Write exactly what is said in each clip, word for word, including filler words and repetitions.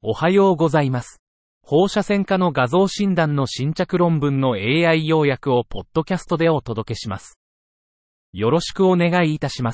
おはようございます。放射線科の画像診断の新着論文の エーアイ 要約をポッドキャストでお届けします。よろしくお願いいたします。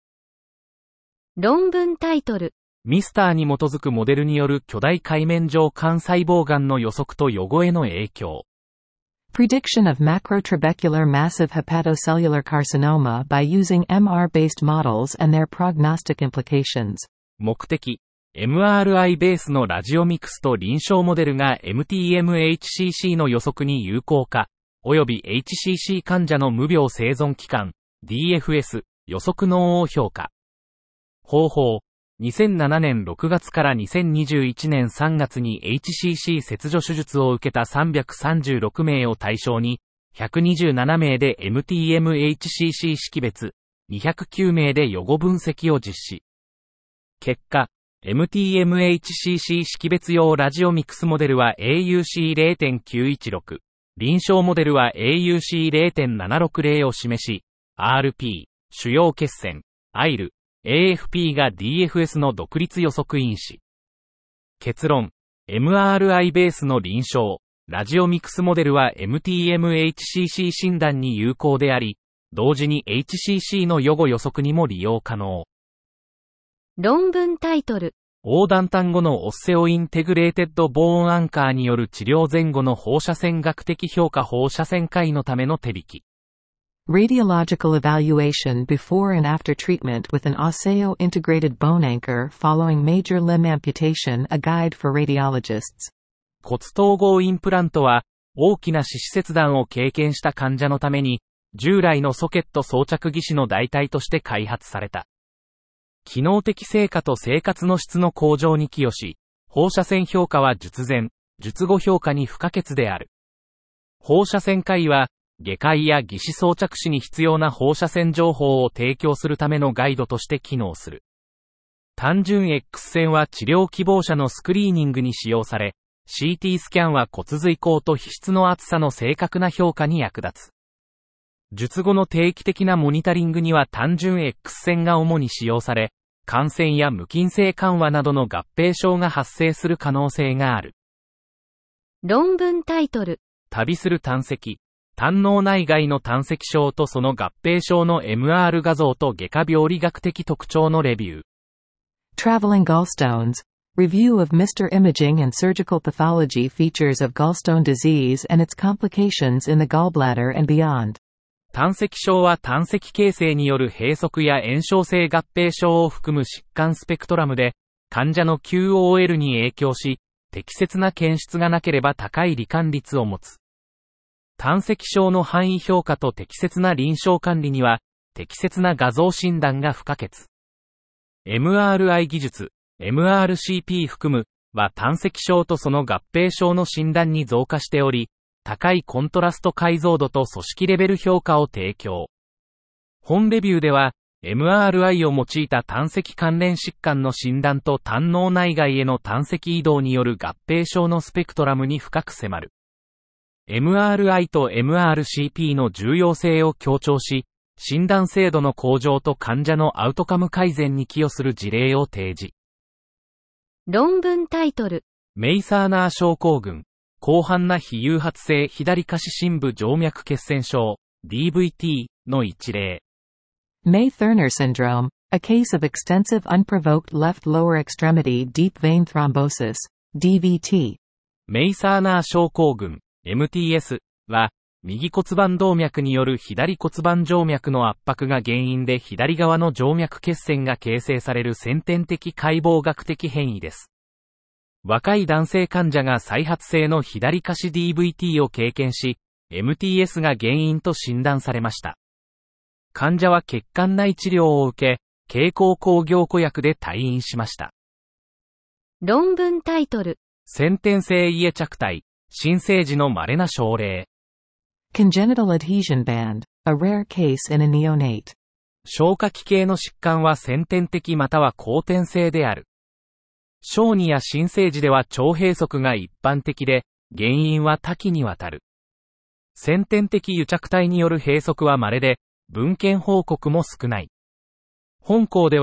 論文タイトル。 ミスターに基づくモデルによる巨大界面上幹細胞がんの予測と予後への影響。 Prediction of macrotrabecular massive hepatocellular carcinoma by using エムアール based models and their prognostic implications。 目的。エムアールアイ ベースのラジオミクスと臨床モデルが エムティーエムエイチシーシー の予測に有効か、及び エイチシーシー 患者の無病生存期間、ディーエフエス、予測能を評価。方法。にせんななねんろくがつからにせんにじゅういちねんさんがつに エイチシーシー 切除手術を受けたさんびゃくさんじゅうろくめいを対象に、ひゃくにじゅうななめいで エムティーエムエイチシーシー 識別、にひゃくきゅうめいで予後分析を実施。結果、エムティーエムエイチシーシー 識別用ラジオミクスモデルは エーユーシーゼロてんきゅういちろく、臨床モデルは エーユーシーゼロてんななろくゼロ を示し、アールピー、主要血栓、アイエル、エーエフピー が ディーエフエス の独立予測因子。結論、エムアールアイ ベースの臨床、ラジオミクスモデルは エムティーエムエイチシーシー 診断に有効であり、同時に エイチシーシー の予後予測にも利用可能。 論文タイトル。 横断単語のオッセオインテグレーテッドボーンアンカーによる治療前後の放射線学的評価放射線科医のための手引き。 Radiological evaluation before and after treatment with an osseo-integrated bone anchor following major limb amputation, a guide for radiologists。 骨統合インプラントは、大きな四肢切断を経験した患者のために、従来のソケット装着義肢の代替として開発された。機能的成果と生活の質の向上に寄与し、放射線評価は術前、術後評価に不可欠である。放射線科医は、外科医や義肢装着士に必要な放射線情報を提供するためのガイドとして機能する。単純 X 線は治療希望者のスクリーニングに使用され、シーティー スキャンは骨髄孔と皮質の厚さの正確な評価に役立つ。術後の定期的なモニタリングには単純 X 線が主に使用され、感染や無菌性緩和などの合併症が発生する可能性がある。 論文タイトル。 旅する胆石、胆嚢内外の胆石症とその合併症の エムアール 画像と外科病理学的特徴のレビュー。 Traveling gallstones. Review of Mister Imaging and surgical pathology features of gallstone disease and its complications in the gallbladder and beyond。 胆石症は胆石形成による閉塞や炎症性合併症を含む疾患スペクトラムで、患者の キューオーエル に影響し、適切な検出がなければ高い罹患率を持つ。胆石症の範囲評価と適切な臨床管理には、適切な画像診断が不可欠。エムアールアイ 技術、エムアールシーピー 含む、は胆石症とその合併症の診断に増加しており、高いコントラスト解像度と組織レベル評価を提供。本レビューでは、エムアールアイ を用いた胆石関連疾患の診断と胆嚢内外への胆石移動による合併症のスペクトラムに深く迫る。エムアールアイ と エムアールシーピー の重要性を強調し、診断精度の向上と患者のアウトカム改善に寄与する事例を提示。 論文タイトル。 メイサーナー症候群。広範な非誘発性左下肢深部静脈血栓症 ディーブイティー の一例。 May-Thurner syndrome, a case of extensive unprovoked left lower extremity deep vein thrombosis ディーブイティー。 メイサーナー症候群 エムティーエス は右骨盤動脈による左骨盤静脈の圧迫が原因で左側の静脈血栓が形成される先天的解剖学的変異です。若い男性患者が再発性の左下肢 ディーブイティー を経験し、エムティーエス が原因と診断されました。患者は血管内治療を受け、経口抗凝固薬で退院しました。 論文タイトル。 先天性家着体、新生児の稀な症例。 Congenital adhesion band, a rare case in a neonate。 消化器系の疾患は先天的または後天性である。小児や新生児では腸閉塞が一般的で、原因は多岐にわたる。先天的癒着体による閉塞は稀で、文献報告も少ない。本項では、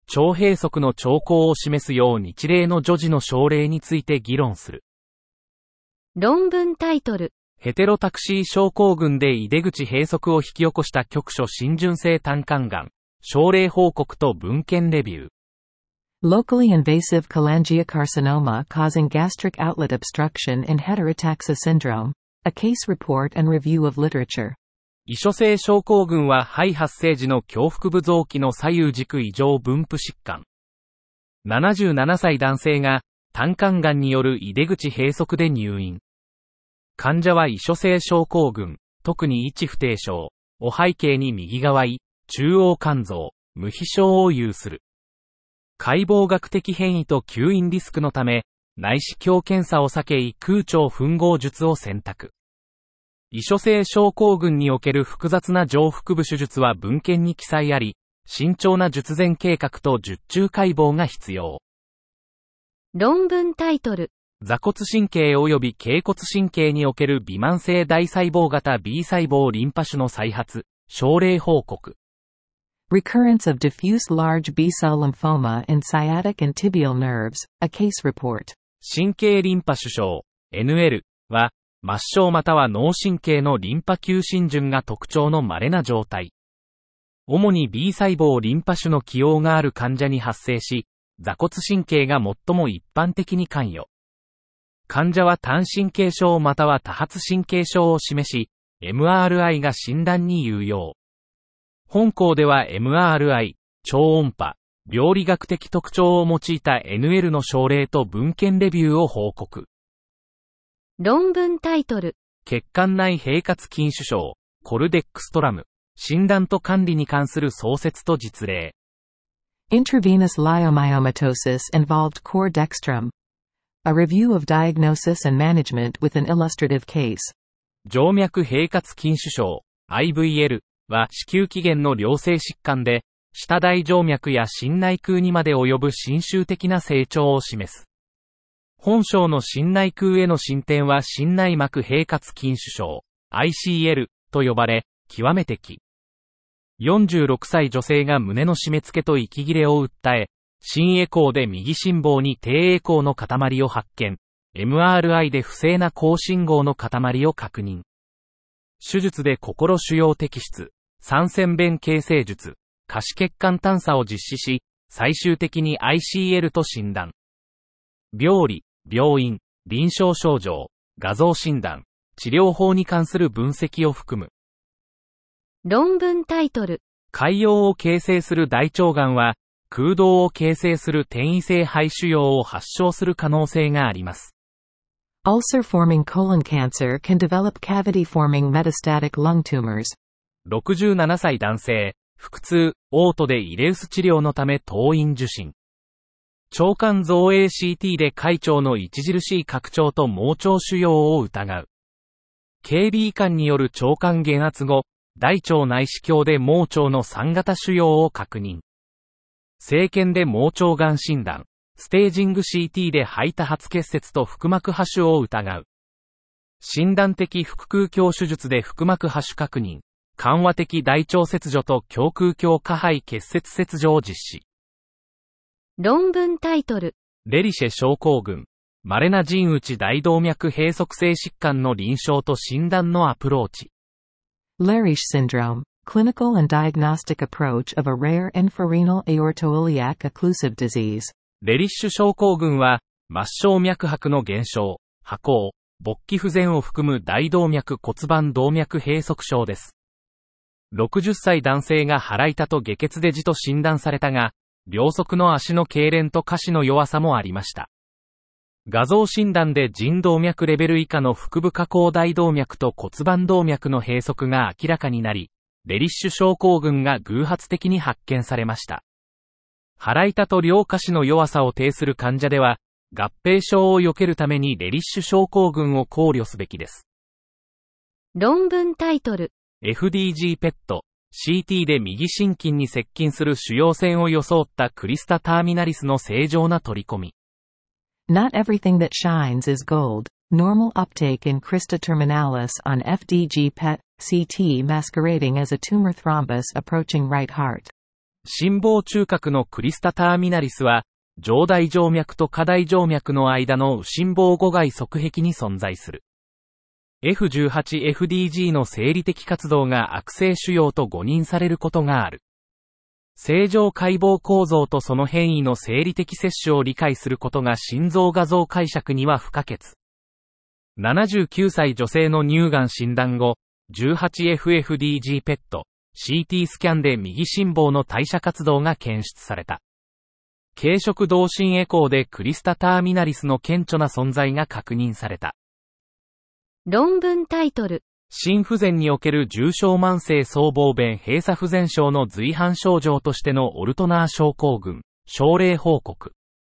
腸閉塞の兆候を示すよう日例の女児の症例について議論する。 論文タイトル。 ヘテロタクシー症候群で出口閉塞を引き起こした局所浸潤性胆管がん、症例報告と文献レビュー。 Locally invasive cholangiocarcinoma causing gastric outlet obstruction in heterotaxa syndrome. A case report and review of literature. 異所性症候群は肺発生時の胸腹部臓器の左右軸異常分布疾患。ななじゅうななさい男性が胆管がんによる出口閉塞で入院。患者は異所性症候群、特に一不定症を背景に右側胃、中央肝臓、無皮症を有する。解剖学的変異と吸引リスクのため、内視鏡検査を避け胃空腸吻合術を選択。異所性症候群における複雑な上腹部手術は文献に記載あり、慎重な術前計画と術中解剖が必要。 論文タイトル。 座骨神経及び脛骨神経における微慢性大細胞型 B 細胞リンパ腫の再発、症例報告。 Recurrence of diffuse large B-cell lymphoma in sciatic and tibial nerves, a case report. 神経リンパ腫症、エヌエル は、末梢または脳神経のリンパ球浸潤が特徴の稀な状態。主に B 細胞リンパ腫の起用がある患者に発生し、座骨神経が最も一般的に関与。患者は単神経症または多発神経症を示し、エムアールアイ が診断に有用。本項では エムアールアイ、超音波、病理学的特徴を用いた エヌエル の症例と文献レビューを報告。 論文タイトル。 血管内閉活筋腫症、コルデックストラム、診断と管理に関する創設と実例。 Intravenous leiomyomatosis involved core dextrum. A review of diagnosis and management with an illustrative case. 静脈閉活筋腫症、アイブイエル は子宮起源の良性疾患で、下大静脈や心内腔にまで及ぶ侵襲的な成長を示す。本章の心内腔への進展は心内膜閉活筋腫症、アイシーエル と呼ばれ、極めて奇。よんじゅうろくさい女性が胸の締め付けと息切れを訴え、心エコーで右心房に低エコーの塊を発見、エムアールアイ で不正な高信号の塊を確認。手術で心腫瘍摘出、三尖弁形成術、下肢血管探査を実施し、最終的に アイシーエル と診断。病理、病院、臨床症状、画像診断、治療法に関する分析を含む。 論文タイトル。 潰瘍を形成する大腸がんは、空洞を形成する転移性肺腫瘍を発症する可能性があります。 Ulcer-forming colon cancer can develop cavity-forming metastatic lung tumors. ろくじゅうななさい男性、腹痛、嘔吐でイレウス治療のため当院受診。腸管造影 シーティー で開腸の著しい拡張と盲腸腫瘍を疑う。警備移管による腸管減圧後、大腸内視鏡で盲腸のさん型腫瘍を確認。生検で盲腸がん診断、ステージング シーティー で肺多発結節と腹膜播種を疑う。診断的腹腔鏡手術で腹膜播種確認、緩和的大腸切除と胸腔鏡下肺結節切除を実施。 論文タイトル。 レリシェ症候群、稀な腎内大動脈閉塞性疾患の臨床と診断のアプローチ。 Leriche syndrome, clinical and diagnostic approach of a rare infrarenal aortoiliac occlusive disease. レリッシュ症候群は、末梢脈拍の減少、跛行、勃起不全を含む大動脈骨盤動脈閉塞症です。ろくじゅっさい男性が腹痛と下血で痔と診断されたが、両側の足の痙攣と下肢の弱さもありました。画像診断で腎動脈レベル以下の腹部下行大動脈と骨盤動脈の閉塞が明らかになり、レリッシュ症候群が偶発的に発見されました。腹痛と両下肢の弱さを呈する患者では、合併症を避けるためにレリッシュ症候群を考慮すべきです。 論文タイトル。 エフディージー ペット、シーティー で右心筋に接近する腫瘍線を装ったクリスタターミナリスの正常な取り込み。 Not everything that shines is gold. Normal uptake in crista terminalis on エフディージー ペット シーティーmasquerading as a tumor thrombus approaching right heart. 心房中隔のクリスタターミナリスは、上大静脈と下大静脈の間の右心房互外側壁に存在する。エフじゅうはちエフディージー の生理的活動が悪性腫瘍と誤認されることがある。正常解剖構造とその変異の生理的接種を理解することが心臓画像解釈には不可欠。ななじゅうきゅうさい女性の乳がん診断後、じゅうはちエフエフディージー ペット、シーティー スキャンで右心房の代謝活動が検出された。軽触同心エコーでクリスタターミナリスの顕著な存在が確認された。 論文タイトル。 心不全における重症慢性僧帽弁閉鎖不全症の随伴症状としてのオルトナー症候群、症例報告。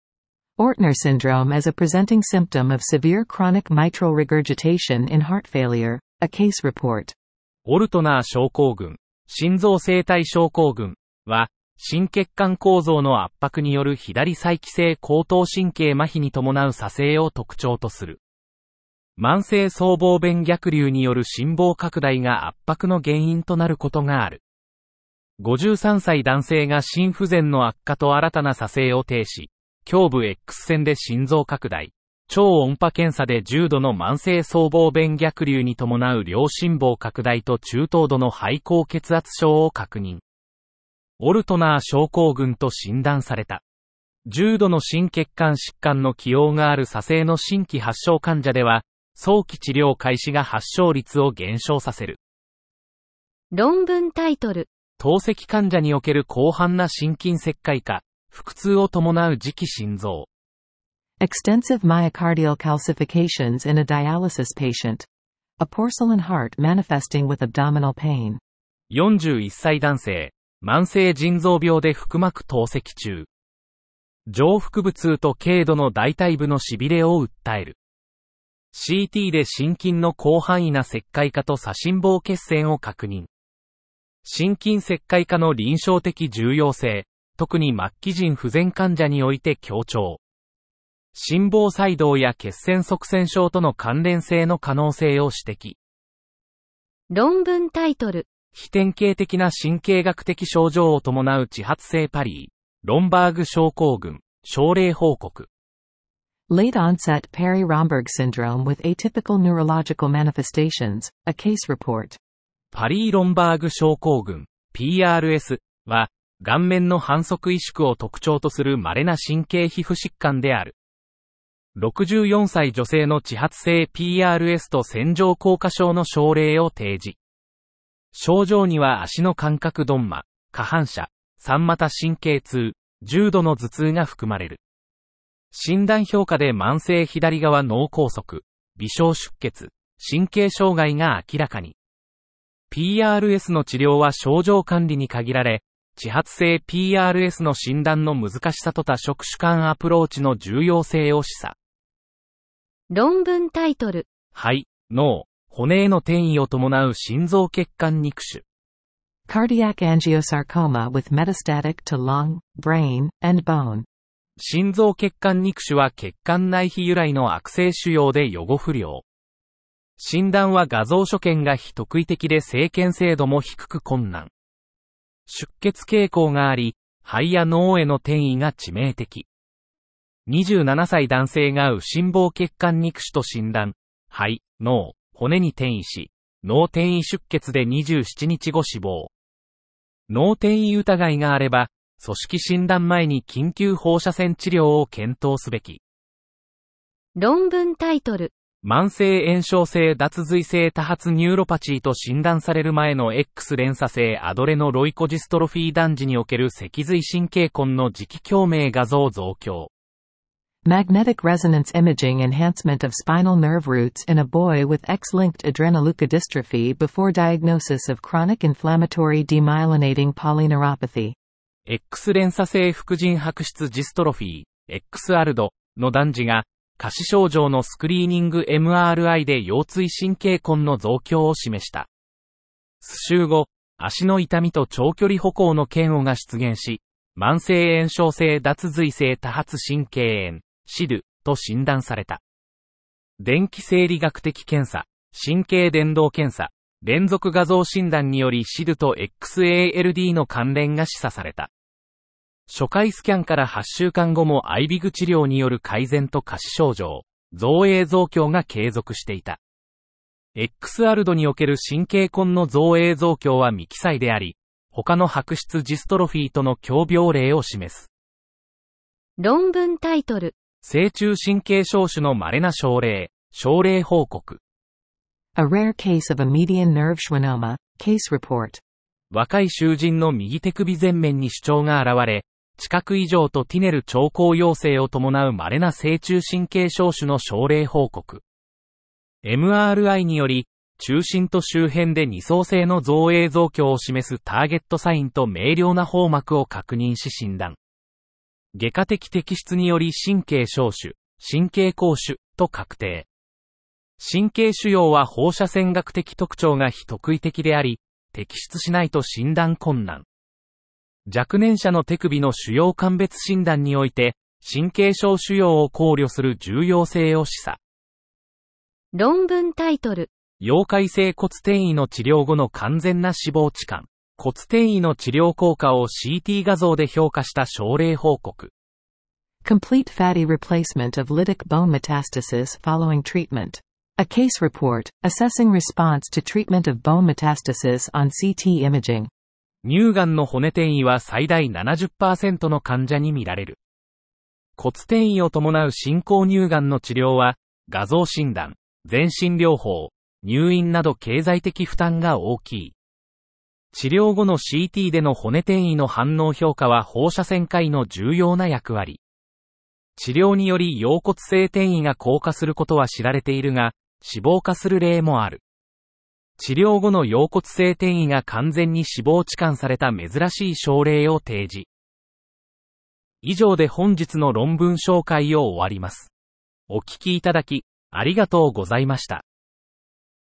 Ortner syndrome as a presenting symptom of severe chronic mitral regurgitation in heart failure, a case report. オルトナー症候群、心臓生体症候群は、心血管構造の圧迫による左再帰性後頭神経麻痺に伴う左性を特徴とする。慢性僧帽弁逆流による心房拡大が圧迫の原因となることがある。ごじゅうさんさい男性が心不全の悪化と新たな左性を呈し、胸部 X 線で心臓拡大、超音波検査で重度の慢性僧帽弁逆流に伴う両心房拡大と中等度の肺高血圧症を確認。オルトナー症候群と診断された。重度の心血管疾患の起用がある左性の新規発症患者では、早期治療開始が発症率を減少させる。 論文タイトル。 透析患者における広範な心筋石灰化、腹痛を伴う磁気心臓。 Extensive myocardial calcifications in a dialysis patient. A porcelain heart manifesting with abdominal pain. よんじゅういっさい男性、慢性腎臓病で腹膜透析中。上腹部痛と軽度の大腿部の痺れを訴える。シーティー で心筋の広範囲な石灰化と左心房血栓を確認。心筋石灰化の臨床的重要性、特に末期腎不全患者において強調。心房細動や血栓塞栓症との関連性の可能性を指摘。 論文タイトル。 非典型的な神経学的症状を伴う遅発性パリー、ロンバーグ症候群、症例報告。 Late onset Peri-Romberg syndrome with atypical neurological manifestations, a case report. パリー・ロンバーグ症候群、ピーアールエス は、顔面の反則萎縮を特徴とする稀な神経皮膚疾患である。ろくじゅうよんさい女性の遅発性 ピーアールエス と線状降下症の症例を提示。症状には足の感覚鈍麻、下反射、三股神経痛、重度の頭痛が含まれる。診断評価で慢性左側脳梗塞、微小出血、神経障害が明らかに。ピーアールエス の治療は症状管理に限られ、遅発性 ピーアールエス の診断の難しさと多職種間アプローチの重要性を示唆。 論文タイトル。 肺、脳、骨への転移を伴う心臓血管肉腫。 Cardiac angiosarcoma with metastatic to lung, brain, and bone. 心臓血管肉腫は血管内皮由来の悪性腫瘍で予後不良。診断は画像所見が非特異的で生検精度も低く困難。出血傾向があり、肺や脳への転移が致命的。にじゅうななさい男性が右心房血管肉腫と診断、肺、脳、骨に転移し、脳転移出血でにじゅうしちにちご死亡。脳転移疑いがあれば、組織診断前に緊急放射線治療を検討すべき。 論文タイトル。 慢性炎症性脱髄性多発ニューロパチーと診断される前の X 連鎖性アドレノロイコジストロフィー男児における脊髄神経根の磁気共鳴画像増強。 Magnetic resonance imaging enhancement of spinal nerve roots in a boy with X-linked adrenoleukodystrophy before diagnosis of chronic inflammatory demyelinating polyneuropathy. X 連鎖性副腎白質ジストロフィー、エックスアルド の男児が、下肢症状のスクリーニング エムアールアイ で腰椎神経根の増強を示した。数週後、足の痛みと長距離歩行の嫌悪が出現し、慢性炎症性脱髄性多発神経炎、シドゥ と診断された。電気生理学的検査、神経伝導検査、連続画像診断によりシドゥと エックスエーエルディー の関連が示唆された。 初回スキャンからはっしゅうかんごもアイビグ治療による改善と下肢症状、造影増強が継続していた。エックスアル 度における神経根の造影増強は未記載であり、他の白質ジストロフィーとの共病例を示す。 論文タイトル。 正中神経症種の稀な症例、症例報告。 A rare case of a median nerve schwannoma, case report. 若い囚人の右手首前面に主張が現れ、知覚異常とティネル兆候陽性を伴う稀な正中神経症種の症例報告。エムアールアイ により、中心と周辺で二層性の造影増強を示すターゲットサインと明瞭な包膜を確認し診断。外科的摘出により神経小種、神経膠種と確定。神経腫瘍は放射線学的特徴が非特異的であり、摘出しないと診断困難。若年者の手首の腫瘍鑑別診断において、神経小腫瘍を考慮する重要性を示唆。 論文タイトル。 溶解性骨転移の治療後の完全な脂肪置換。骨転移の治療効果を シーティー 画像で評価した症例報告。Complete fatty replacement of lytic bone metastasis following treatment. A case report, assessing response to treatment of bone metastasis on シーティー imaging. 乳がんの骨転移は最大 ななじゅっパーセント の患者に見られる。骨転移を伴う進行乳がんの治療は、画像診断、全身療法、入院など経済的負担が大きい。治療後の シーティー での骨転移の反応評価は放射線科医の重要な役割。治療により腰骨性転移が降下することは知られているが、死亡化する例もある。治療後の腰骨性転移が完全に脂肪置換された珍しい症例を提示。以上で本日の論文紹介を終わります。お聞きいただき、ありがとうございました。